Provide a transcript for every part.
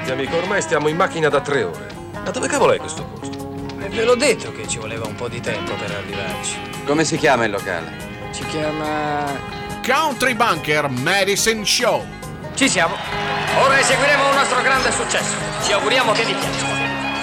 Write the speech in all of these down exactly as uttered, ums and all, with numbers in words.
Senti amico, ormai stiamo in macchina da tre ore. Ma dove cavolo è questo posto? E ve l'ho detto che ci voleva un po' di tempo per arrivarci. Come si chiama il locale? Si chiama... Country Bunker Medicine Show. Ci siamo. Ora eseguiremo un nostro grande successo. Ci auguriamo che vi piaccia.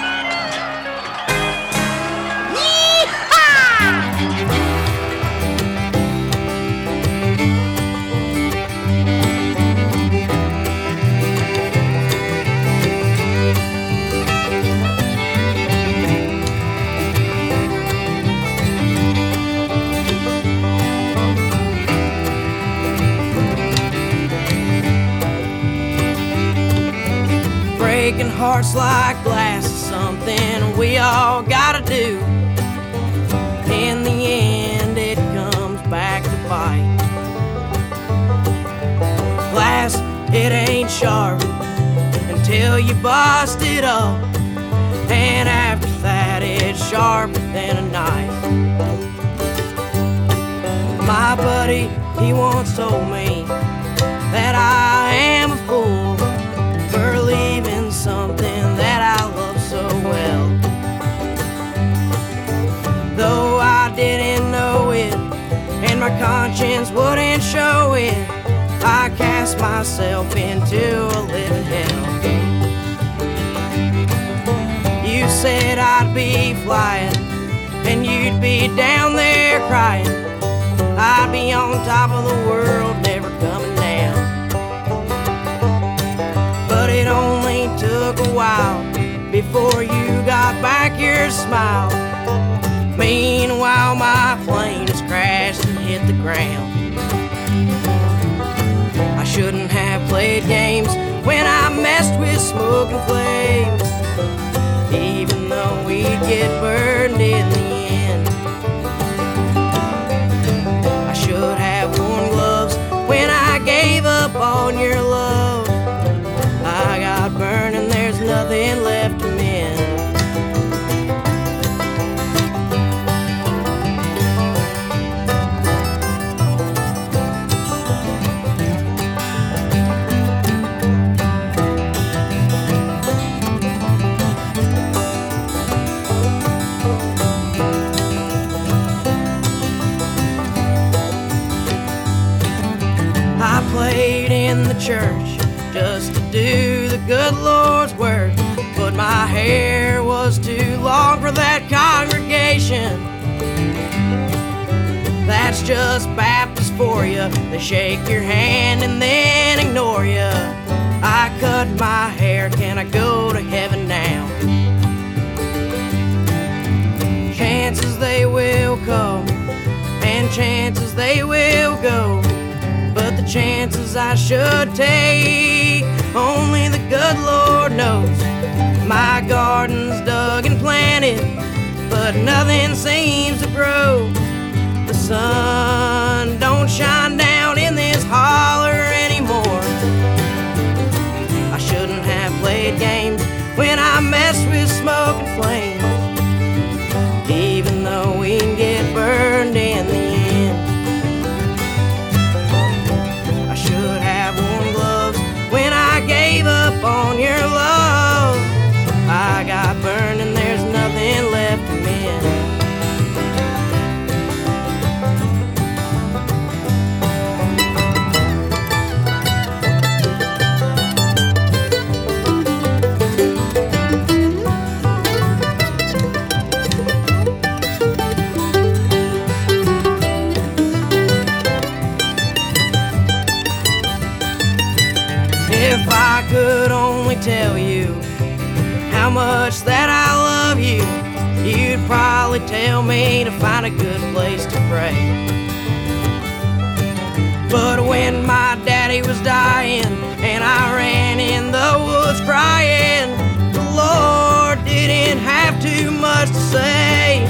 Breaking hearts like glass is something we all gotta do. In the end, it comes back to bite. Glass, it ain't sharp until you bust it up, and after that, it's sharper than a knife. My buddy, he once told me that I am a fool for leaving something that I love so well. Though I didn't know it, and my conscience wouldn't show it, I cast myself into a living hell. You said I'd be flying, and you'd be down there crying. I'd be on top of the world, never coming down. But it only took a while before you got back your smile. Meanwhile, my plane has crashed and hit the ground. I shouldn't have played games when I messed with smoke and flames, even though we'd get burned in the end. I should have worn gloves when I gave up on your love. I got burned and there's nothing left to mend. I played in the church just to do the good Lord's work, but my hair was too long for that congregation. That's just Baptist for you. They shake your hand and then ignore you. I cut my hair, can I go to heaven now? Chances they will come, and chances they will go, but the chances I should take, only the good Lord knows. My garden's dug and planted, but nothing seems to grow. The sun don't shine down in this holler anymore. I shouldn't have played games when I messed with smoke and flames, even though we can get burned in the end. I should have worn gloves when I gave up on your love. I got burned and there's nothing left to mend. If I could only tell you how much that I love you, you'd probably tell me to find a good place to pray. But when my daddy was dying and I ran in the woods crying, the Lord didn't have too much to say.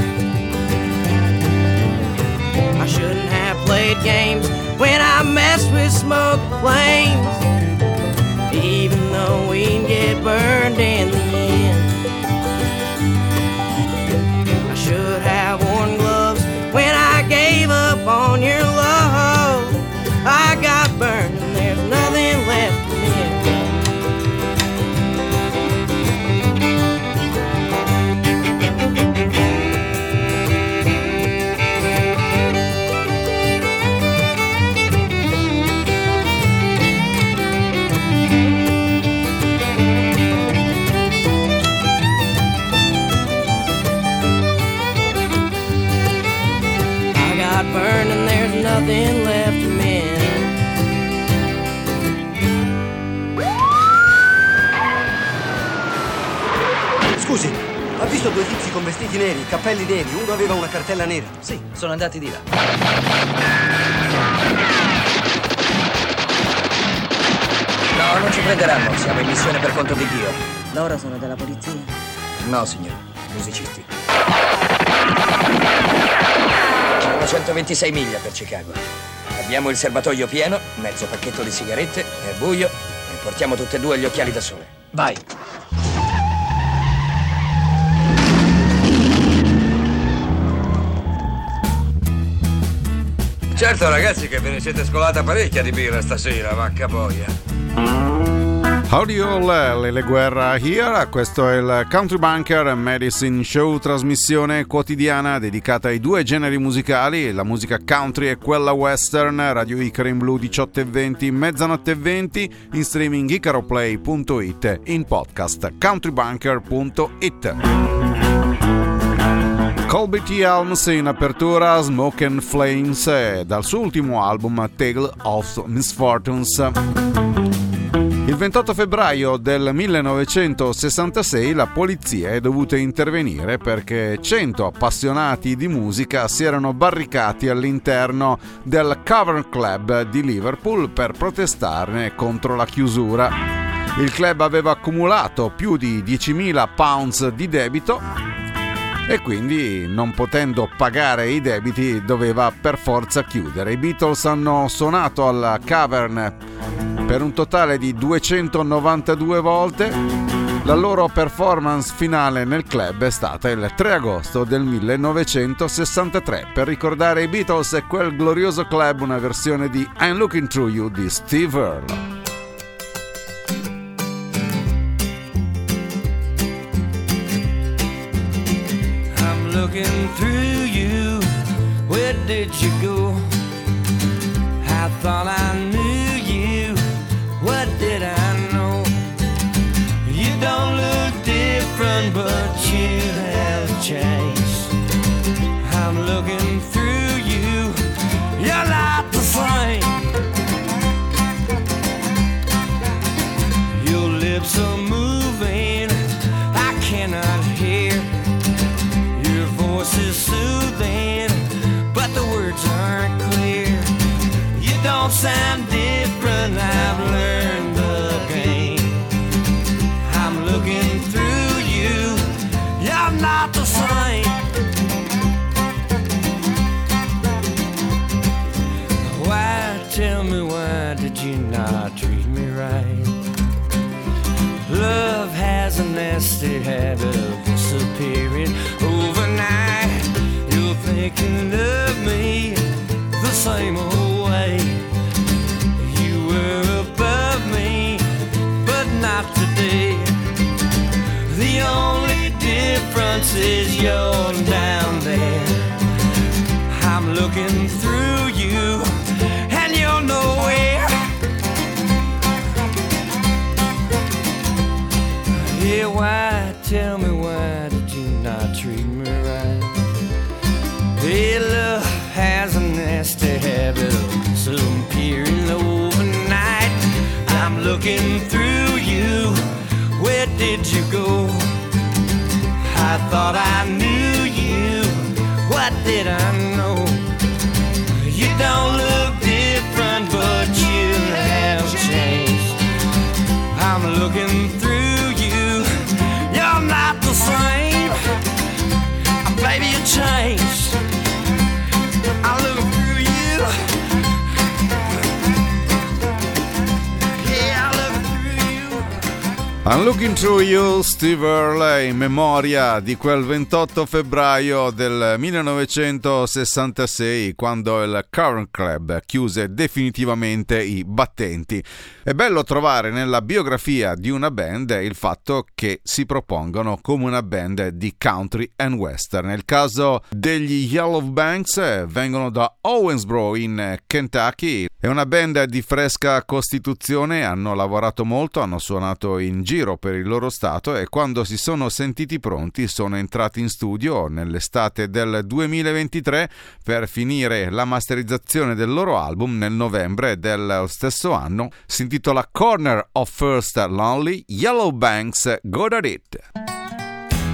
I shouldn't have played games when I messed with smoke and flames, even though we can get burned in the end. I should have worn gloves when I gave up on your love. I got burned and there's nothing left to mend. Scusi, ha visto due tizi con vestiti neri, cappelli neri, uno aveva una cartella nera? Sì, sono andati di là. No, non ci prenderanno, siamo in missione per conto di Dio. Loro sono della polizia? No, signore, musicisti. Sono centoventisei miglia per Chicago. Abbiamo il serbatoio pieno, mezzo pacchetto di sigarette, è buio e portiamo tutte e due gli occhiali da sole. Vai! Certo ragazzi che ve ne siete scolata parecchia di birra stasera, vacca boia. Howdy all, Lele Guerra here, questo è il Country Bunker Medicine Show, trasmissione quotidiana dedicata ai due generi musicali, la musica country e quella western, Radio Icaro in blu diciotto e venti, mezzanotte e venti, in streaming icaroplay punto it, in podcast countrybunker punto it. Colby T. Helms in apertura, Smoke and Flames, dal suo ultimo album Tale of Misfortunes. Il ventotto febbraio del millenovecentosessantasei la polizia è dovuta intervenire perché cento appassionati di musica si erano barricati all'interno del Cavern Club di Liverpool per protestarne contro la chiusura. Il club aveva accumulato più di diecimila pounds di debito e quindi, non potendo pagare i debiti, doveva per forza chiudere. I Beatles hanno suonato alla Cavern per un totale di duecentonovantadue volte. La loro performance finale nel club è stata il tre agosto del millenovecentosessantatré. Per ricordare i Beatles e quel glorioso club, una versione di I'm Looking Through You di Steve Earle. Looking through you, where did you go? I thought I knew you, what did I know? You don't look different, but you have changed. I'm looking through you, you're not the same. Your lips are moving, I cannot hear. Voice is soothing, but the words aren't clear. You don't sound different, I've learned the game. I'm looking through you, you're not the same. Why, tell me why did you not treat me right? Love has a nasty habit of disappearing overnight. You're thinking of me the same old way. You were above me, but not today. The only difference is you're down there. I'm looking through you, and you're nowhere. Yeah, why, tell me why did you not treat me right? Hey, love has a nasty habit of disappearing overnight. I'm looking through you, where did you go? I thought I knew you, what did I know? You don't look different, but you have changed. I'm looking through you, you're not the same. Baby, you changed. I look through you. Yeah, I look through you. I'm Looking Through You, Steve Earle, in memoria di quel ventotto febbraio del millenovecentosessantasei, quando il Cavern Club chiuse definitivamente i battenti. È bello trovare nella biografia di una band il fatto che si propongono come una band di country and western. Nel caso degli Yellowbanks, vengono da Owensboro in Kentucky. È una band di fresca costituzione, hanno lavorato molto, hanno suonato in giro per il loro stato e quando si sono sentiti pronti sono entrati in studio nell'estate del duemilaventitré per finire la masterizzazione del loro album nel novembre del stesso anno. Si intitola Corner of First Lonely, Yellowbanks, Go At It.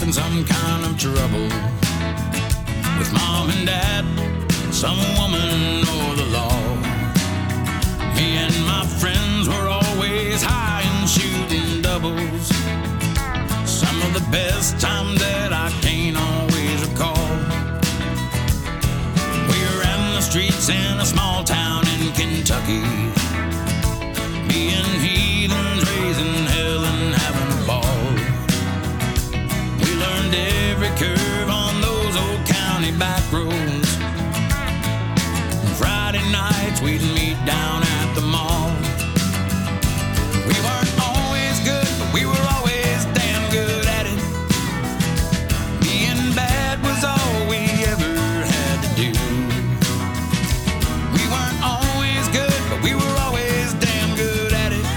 in some kind of trouble with mom and dad, some woman or the law. Me and my friends were always high and shooting doubles. Some of the best times that I can't always recall. We ran the streets in a small town in Kentucky, being heathens, raising hell and having a ball. We learned every curve on those old county back roads. Friday nights we'd meet down at the mall. We weren't always good, but we were always damn good at it. Being bad was all we ever had to do. We weren't always good, but we were always damn good at it.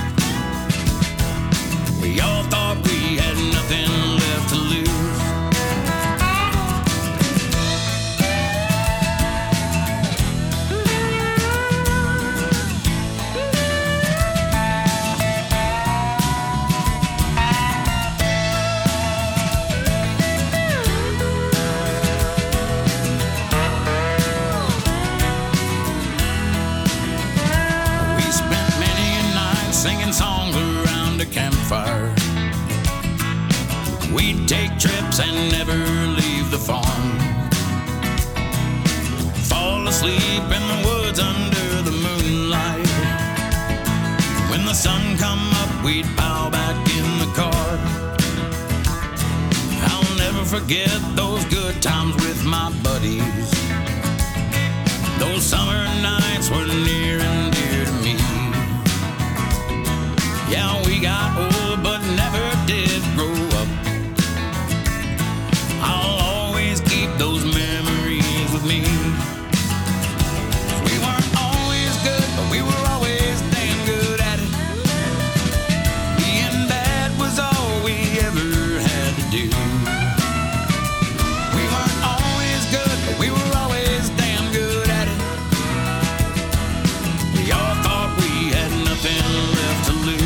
We all thought we had nothing left to lose. Singing songs around a campfire. We'd take trips and never leave the farm. Fall asleep in the woods under the moonlight. When the sun come up, we'd pile back in the car. I'll never forget those good times with my buddies. Those summer nights were near and dear to me. Yeah, we got old, but never did grow up. I'll always keep those memories with me. We weren't always good, but we were always damn good at it. Being bad was all we ever had to do. We weren't always good, but we were always damn good at it. We all thought we had nothing left to lose.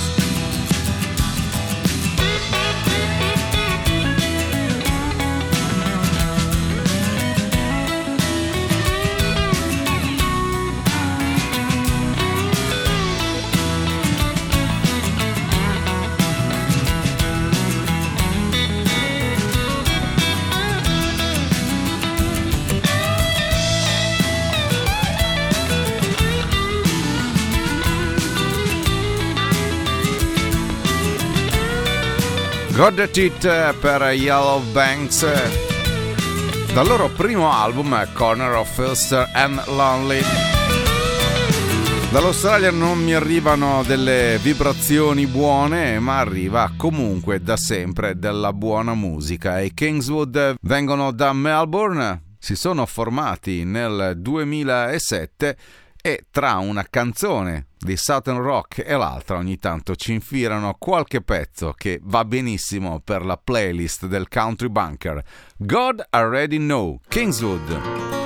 Got That It per Yellow Banks dal loro primo album Corner of Ulster and Lonely. Dall'Australia non mi arrivano delle vibrazioni buone, ma arriva comunque da sempre della buona musica. I Kingswood vengono da Melbourne, si sono formati nel duemilasette e tra una canzone di Southern Rock e l'altra ogni tanto ci infilano qualche pezzo che va benissimo per la playlist del Country Bunker. God Already Know, Kingswood.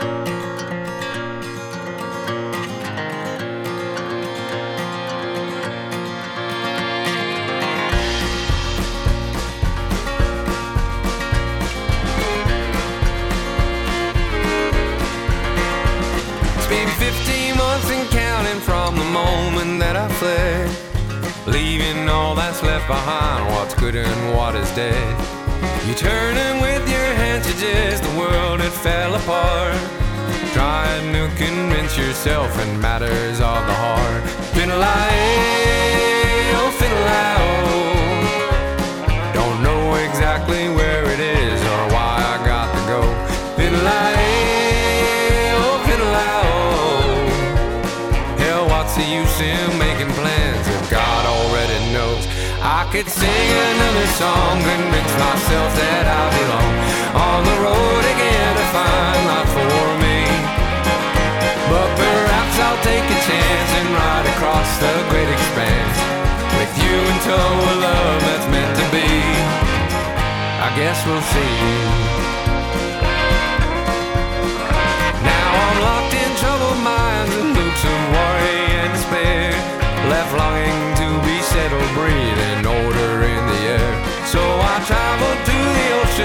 From the moment that I fled, leaving all that's left behind, what's good and what is dead. You turning with your hand suggests the world had fell apart, trying to convince yourself in matters of the heart. Fiddle-I-ay, oh fiddle-I-oh, don't know exactly where it is or why I got to go. Fiddle-I-ay, oh fiddle-I-oh, what's the use in making plans if God already knows? I could sing another song, convince myself that I belong on the road again to find life for me. But perhaps I'll take a chance and ride across the great expanse with you in tow, a love that's meant to be. I guess we'll see. Now I'm locked in troubled minds and loops of worry and despair, left longing to be settled, breathing order in the air. So I traveled to the ocean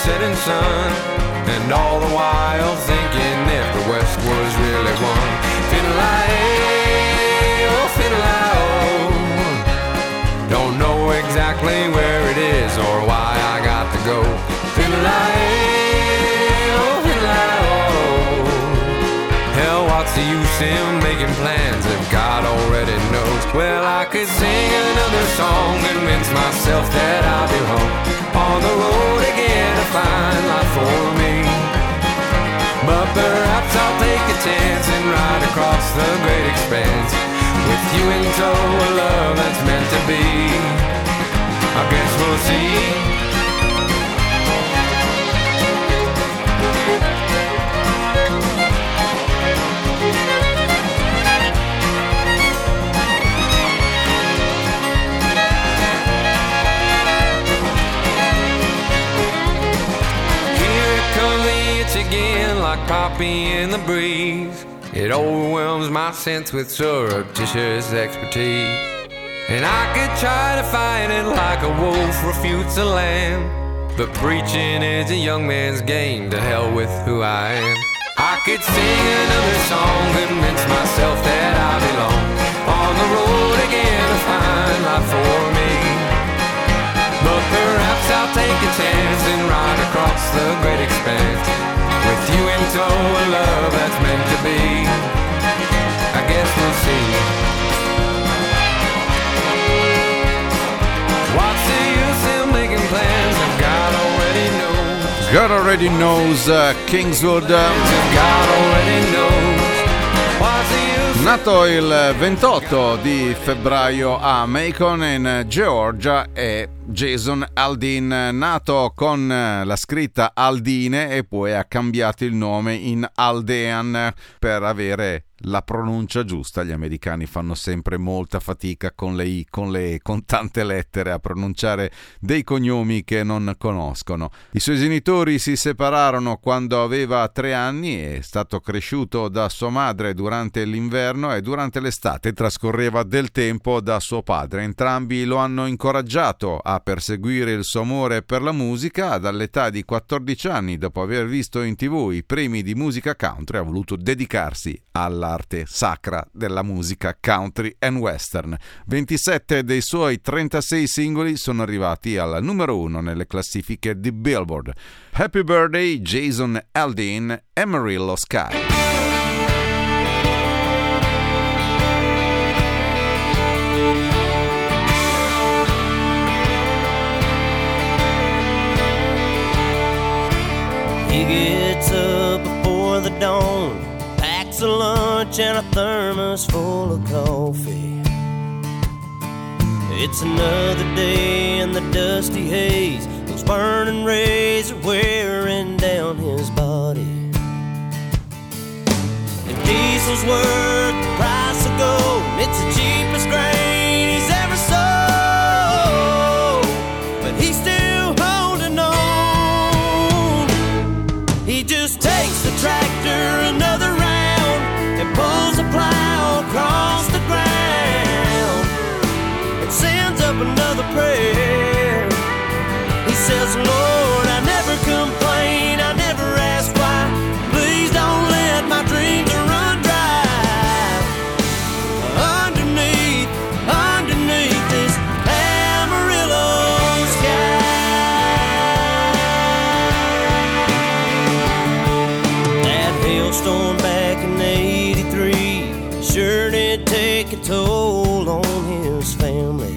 setting sun. And all the while thinking if the West was really one. Fiddle-I-ay, oh, fiddle-I-oh. Don't know exactly where it is or why I got to go. Fiddle-I-ay, oh, fiddle-I-oh. Hell, what's the use in making plans if God already knows? Well, I could sing another song, convince myself that I'll be home on the road again to find life for me. But perhaps I'll take a chance and ride across the great expanse with you in tow, a love that's meant to be. I guess we'll see. Again, like poppy in the breeze, it overwhelms my sense with surreptitious expertise. And I could try to fight it like a wolf refutes a lamb, but preaching is a young man's game. To hell with who I am. I could sing another song, convince myself that I belong on the road again to find life for me. But perhaps I'll take a chance and ride across the great expanse with you in tow, a love that's meant to be. I guess we'll see. What's the use in making plans if God already knows? God already knows, uh, Kingswood. If God already knows. What's the use? Nato il ventotto di febbraio a Macon in Georgia è Jason Aldean, nato con la scritta Aldine e poi ha cambiato il nome in Aldean per avere la pronuncia giusta. Gli americani fanno sempre molta fatica con le i, con le con tante lettere a pronunciare dei cognomi che non conoscono. I suoi genitori si separarono quando aveva tre anni, è stato cresciuto da sua madre durante l'inverno e durante l'estate trascorreva del tempo da suo padre. Entrambi lo hanno incoraggiato a perseguire il suo amore per la musica. Dall'età di quattordici anni, dopo aver visto in tv i premi di musica country, ha voluto dedicarsi all'arte sacra della musica country and western. ventisette dei suoi trentasei singoli sono arrivati al numero uno nelle classifiche di Billboard. Happy Birthday Jason Aldean, Amarillo Sky. He gets up before the dawn, packs a lunch and a thermos full of coffee. It's another day in the dusty haze, those burning rays are wearing down his body. If diesel's worth the price of gold, it's the cheapest grain he's ever sold, but he's still holding on. He just takes the tractor another round and pulls a plow across the ground and sends up another prayer. He says, Lord, I never complain, I never ask why. Please don't let my dreams run dry. Underneath, underneath this Amarillo sky. That hailstorm back in eighty-three sure did take a toll on his family.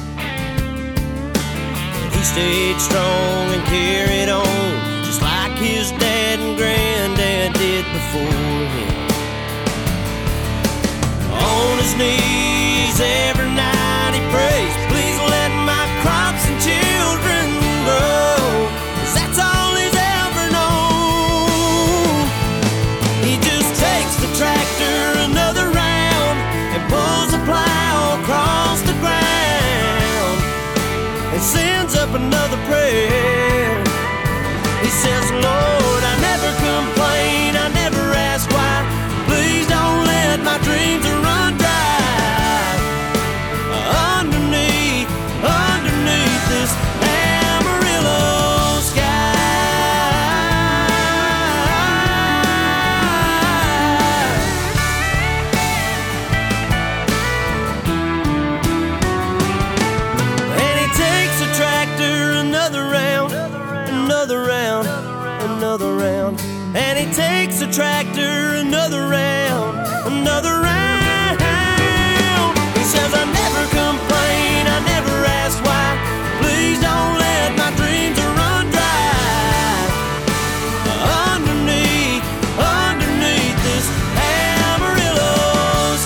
He stayed strong and carried on, just like his dad and granddad did before him. On his knees every night he prays, please let my crops and children grow, 'cause that's all he's ever known. He just takes the tractor another round and pulls the plow across the ground and sends up another prayer. He says, Lord, I never complain, I never ask why. Please don't let my dreams run dry. Underneath, underneath this Amarillo sky. tractor, another round, another round. He says, I never complain, I never ask why. Please don't let my dreams run dry. Underneath, underneath this Amarillo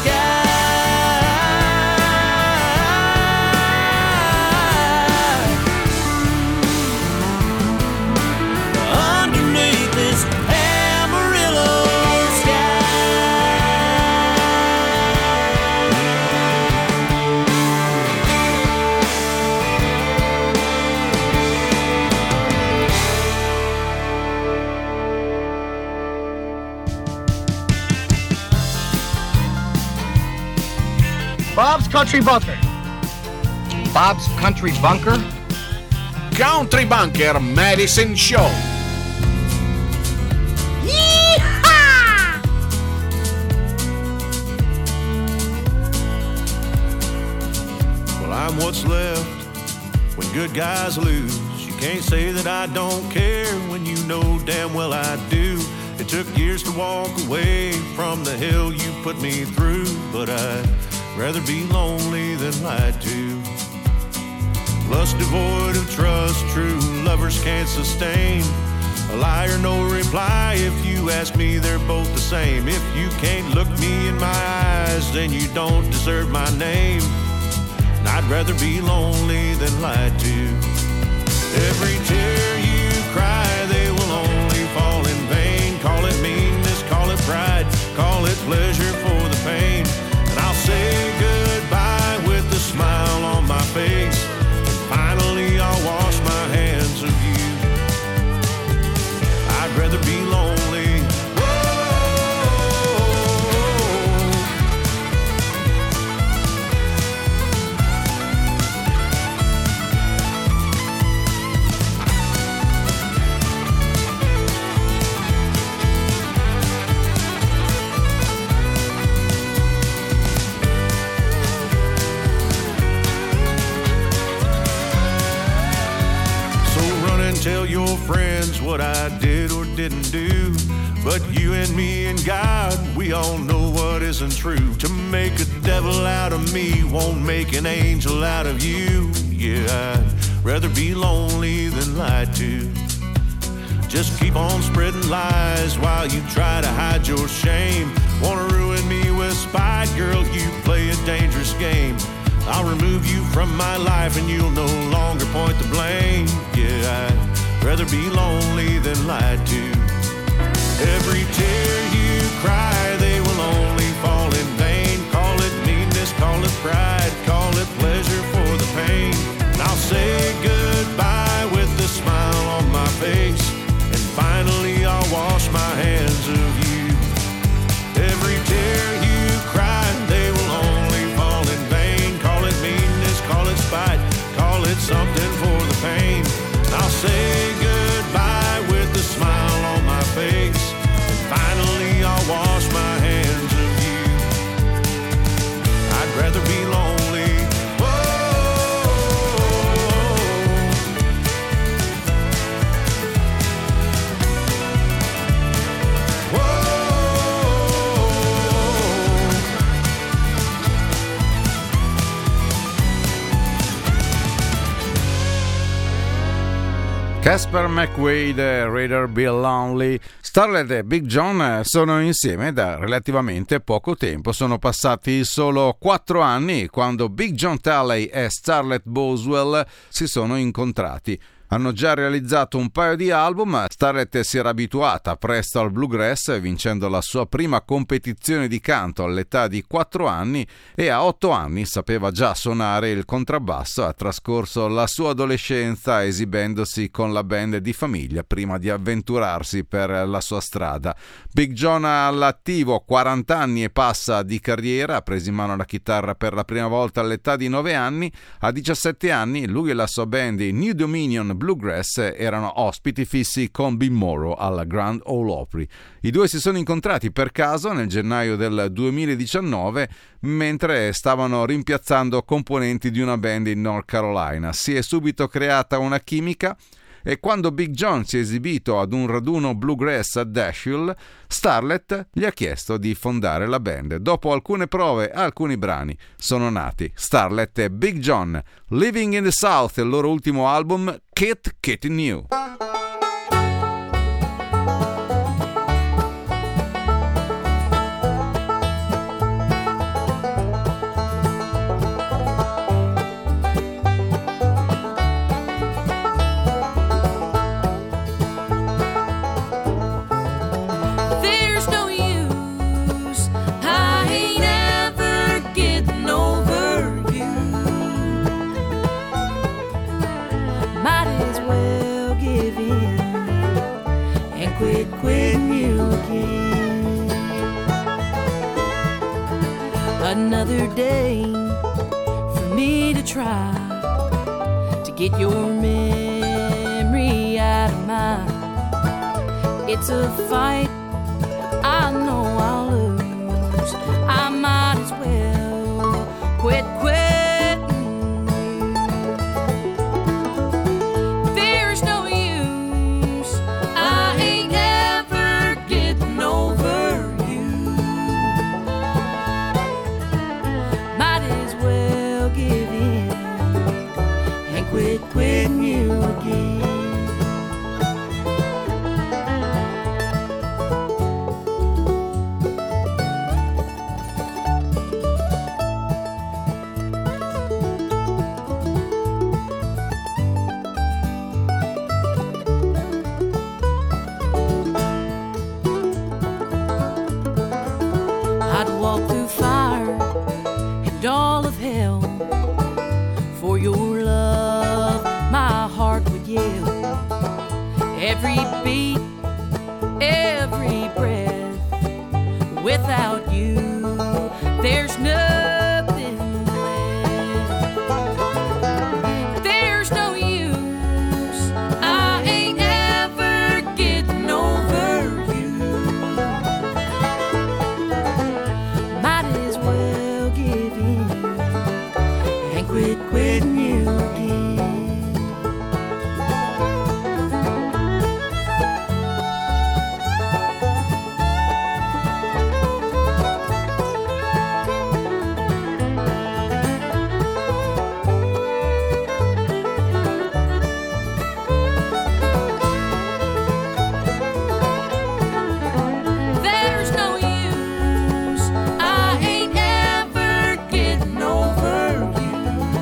sky. Underneath this Amarillo sky. Bob's Country Bunker. Bob's Country Bunker? Country Bunker Medicine Show. Well, I'm what's left when good guys lose. You can't say that I don't care when you know damn well I do. It took years to walk away from the hell you put me through, but I'd rather be lonely than lied to. Lust devoid of trust, true lovers can't sustain. A liar, no reply. If you ask me, they're both the same. If you can't look me in my eyes, then you don't deserve my name. And I'd rather be lonely than lied to. Every tear you cry, they will only fall in vain. Call it meanness, call it pride, call it pleasure for the pain. And I'll say goodbye with a smile on my face. And finally I'll wash my hands of you. I'd rather be lonely. Tell your friends what I did or didn't do. But you and me and God, we all know what isn't true. To make a devil out of me won't make an angel out of you. Yeah, I'd rather be lonely than lied to. Just keep on spreading lies while you try to hide your shame. Wanna ruin me with spite, girl, you play a dangerous game. I'll remove you from my life and you'll no longer point the blame. Yeah, I'd rather be lonely than lied to. Every tear you cry, they will only fall in vain. Call it meanness, call it pride, call it pleasure for the pain. And I'll say goodbye with a smile on my face. And finally I'll wash my hands of you. Every tear you cry, they will only fall in vain. Call it meanness, call it spite, call it something for the pain. And I'll say goodbye with a smile on my face. And finally I'll wash my hands of you. I'd rather be lonely. Casper McQuaid e Rather Be Lonely. Starlet e Big John sono insieme da relativamente poco tempo, sono passati solo quattro anni quando Big John Talley e Starlet Boswell si sono incontrati. Hanno già realizzato un paio di album, Starlet si era abituata presto al bluegrass vincendo la sua prima competizione di canto all'età di quattro anni e a otto anni sapeva già suonare il contrabbasso. Ha trascorso la sua adolescenza esibendosi con la band di famiglia prima di avventurarsi per la sua strada. Big John all'attivo, quaranta anni e passa di carriera, ha preso in mano la chitarra per la prima volta all'età di nove anni. A diciassette anni lui e la sua band i New Dominion Bluegrass erano ospiti fissi con Bill Morrow alla Grand Ole Opry. I due si sono incontrati per caso nel gennaio del duemiladiciannove mentre stavano rimpiazzando componenti di una band in North Carolina. Si è subito creata una chimica e quando Big John si è esibito ad un raduno bluegrass a Dashiell, Starlet gli ha chiesto di fondare la band. Dopo alcune prove, alcuni brani sono nati Starlet e Big John. Living in the South, il loro ultimo album, Kit Kitty New. Another day for me to try to get your memory out of mine. It's a fight I know I'll lose. I might as well quit quitting you. There's no use, I ain't ever getting over you. Might as well give in and quit quitting you again. I'd walk through fire and all of hell for your love. My heart would yell every beat, every breath. Without you, there's nothing left. There's no use, I ain't ever getting over you. Might as well give in and quit quitting you again. There's no use, I ain't ever getting over you.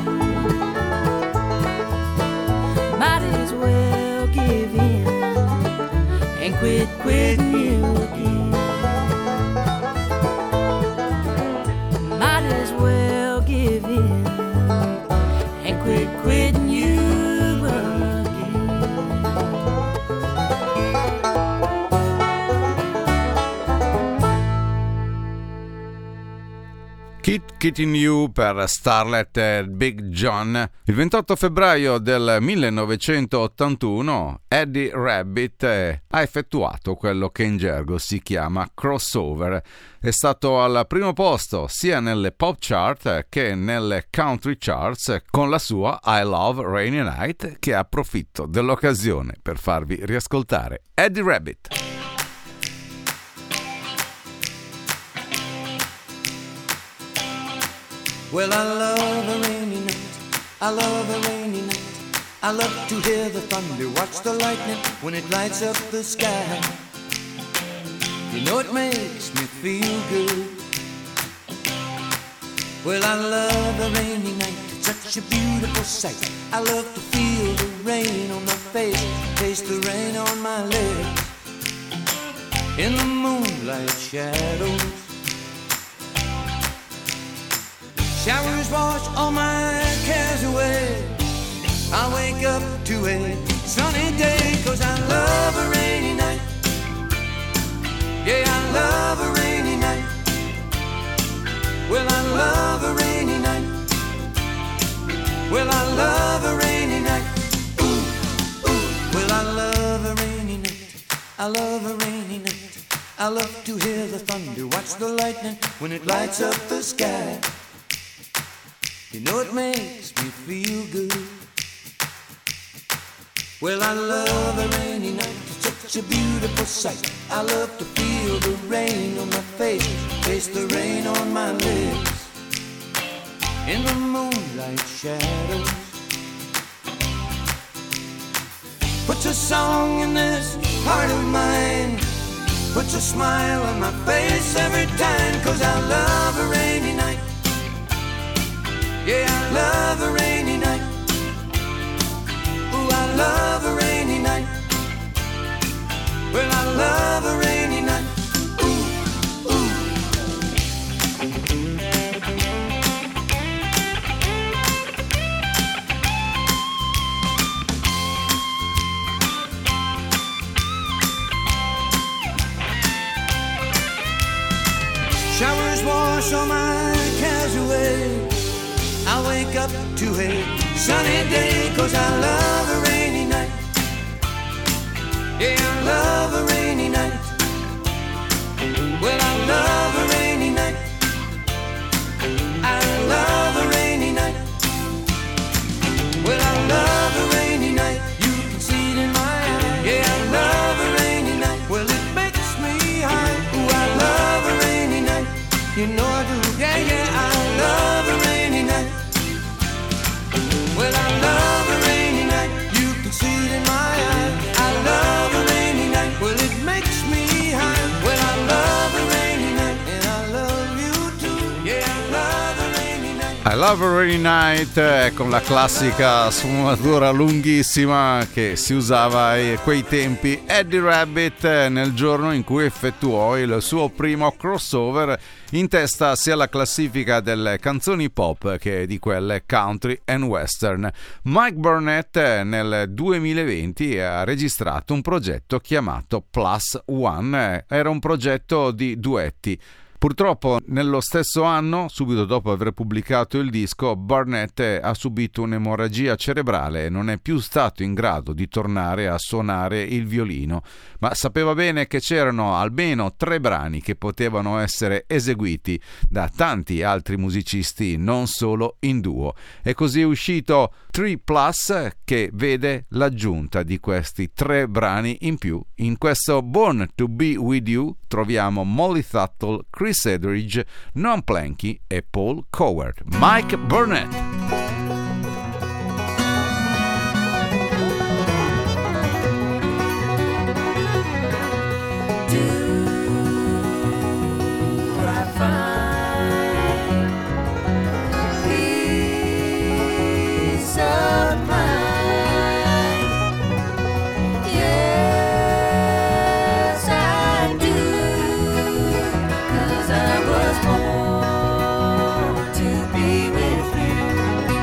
Might as well give in and quit quitting you again. Might as well give in and quit quitting you again. Kit Kitty New per Starlet e Big John. Il ventotto febbraio del millenovecentottantuno Eddie Rabbitt ha effettuato quello che in gergo si chiama crossover. È stato al primo posto sia nelle pop chart che nelle country charts con la sua I Love Rainy Night, che approfitto dell'occasione per farvi riascoltare. Eddie Rabbitt. Well, I love a rainy night, I love a rainy night. I love to hear the thunder, watch the lightning when it lights up the sky. You know it makes me feel good. Well, I love a rainy night, it's such a beautiful sight. I love to feel the rain on my face, taste the rain on my lips. In the moonlight shadows, showers wash all my cares away. I wake up to a sunny day, 'cause I love a rainy night. Yeah, I love a rainy night. Well, I love a rainy night. Well, I love a rainy night. Ooh, ooh. Well, I love a rainy night. I love a rainy night. I love to hear the thunder, watch the lightning when it lights up the sky. You know it makes me feel good. Well, I love a rainy night, it's such a beautiful sight. I love to feel the rain on my face, taste the rain on my lips. In the moonlight shadows, puts a song in this heart of mine, puts a smile on my face every time. Cause I love a rainy night, yeah, I love a rainy night. Ooh, I love a rainy night. Well, I love a rainy night. Ooh, ooh. Showers wash all my cares away. I wake up to a sunny day. Cause I love a rainy night. Yeah, I love a rainy night. Well, I love a rainy night. I love a rainy night. Well, I love a rainy night. You can see it in my eyes. Yeah, I love a rainy night. Well, it makes me high. Ooh, I love a rainy night. You know I do. Yeah, yeah, I love a rainy night. Well, I love a rainy night. You can see it in my eyes. I love a rainy night. Well, it makes me high. Well, I love a rainy night. And I love you too. Yeah, I love a rainy night. I Love a Rainy Night, eh, con la classica sfumatura lunghissima che si usava a quei tempi. Eddie Rabbitt, eh, nel giorno in cui effettuò il suo primo crossover in testa sia alla classifica delle canzoni pop che di quelle country and western. Mike Burnett eh, nel duemilaventi ha registrato un progetto chiamato Plus One, era un progetto di duetti. Purtroppo nello stesso anno, subito dopo aver pubblicato il disco, Burnett ha subito un'emorragia cerebrale e non è più stato in grado di tornare a suonare il violino, ma sapeva bene che c'erano almeno tre brani che potevano essere eseguiti da tanti altri musicisti, non solo in duo. E così è uscito tre Plus, che vede l'aggiunta di questi tre brani in più. In questo Born to Be With You troviamo Molly Tuttle, Chris Edridge, Noam Planky e Paul Coward. Mike Burnett. To be with you.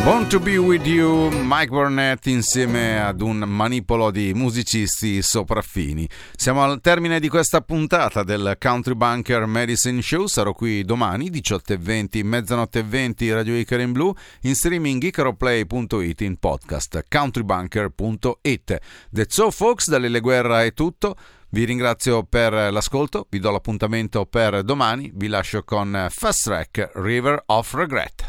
Born to be with you, Mike Burnett insieme ad un manipolo di musicisti sopraffini. Siamo al termine di questa puntata del Country Bunker Medicine Show. Sarò qui domani diciotto e venti, mezzanotte e venti, Radio Icaro in Blu, in streaming icaroplay punto it, in podcast countrybunker punto it. That's all folks, da Lele Guerra è tutto. Vi ringrazio per l'ascolto, vi do l'appuntamento per domani, vi lascio con Fast Track, River of Regret.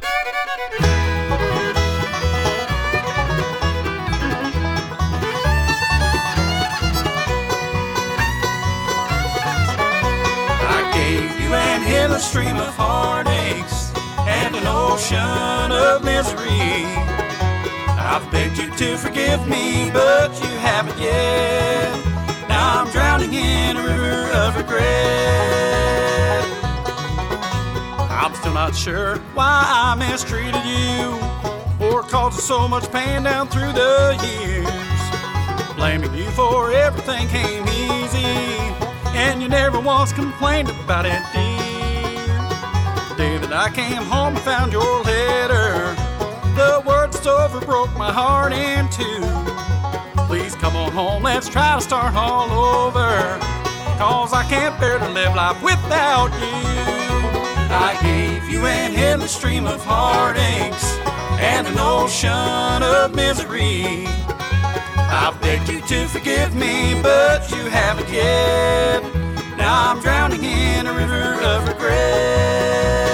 In a stream of heartaches and an ocean of misery, I've begged you to forgive me, but you haven't yet. Now I'm drowning in a river of regret. I'm still not sure why I mistreated you or caused so much pain down through the years. Blaming you for everything came easy, and you never once complained about it, dear. The day that I came home and found your letter, the word that's over broke my heart in two. Please come on home, let's try to start all over, cause I can't bear to live life without you. I gave you an endless stream of heartaches and an ocean of misery. I've begged you to forgive me, but you haven't yet. Now I'm drowning in a river of regret.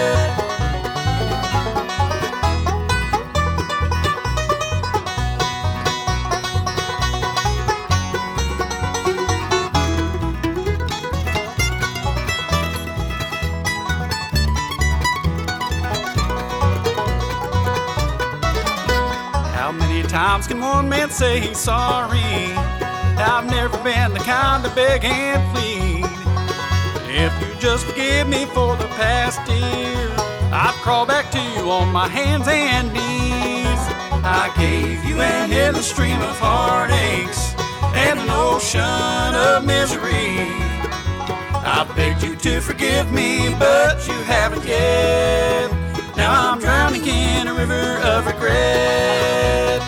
How many times can one man say he's sorry? I've never been the kind to beg and plead. If you just forgive me for the past year, I'd crawl back to you on my hands and knees. I gave you an endless stream of heartaches and an ocean of misery. I begged you to forgive me, but you haven't yet. Now I'm drowning in a river of regret.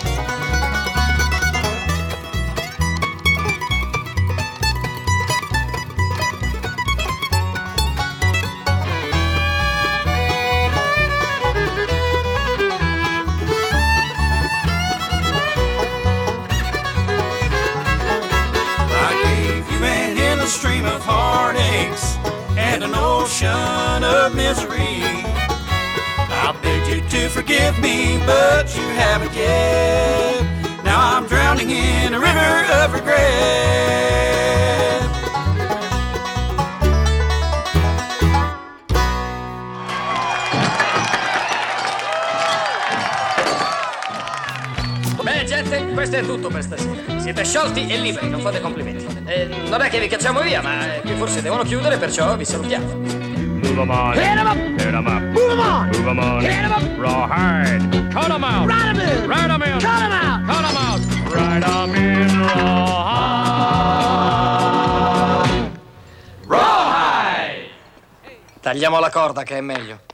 Stream of heartaches and an ocean of misery. I begged you to forgive me, but you haven't yet. Now I'm drowning in a river of regret. Bene gente, questo è tutto per stasera. Siete sciolti e liberi, non fate complimenti. Eh, non è che vi cacciamo via, ma eh, qui forse devono chiudere, perciò vi salutiamo. Move 'em on. Hit 'em up. Hit 'em up. Move 'em on. Move 'em on. Hit 'em up. Rawhide. Cut 'em out. Ride 'em in. Ride 'em in. Cut 'em out. Cut 'em out. Ride 'em in. Rawhide. Rawhide. Tagliamo la corda che è meglio.